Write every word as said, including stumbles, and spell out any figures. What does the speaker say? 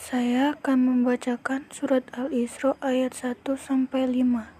Saya akan membacakan surat Al-Isra ayat satu sampai lima.